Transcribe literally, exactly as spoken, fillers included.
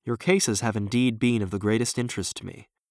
Your cases have indeed been of the greatest interest to me.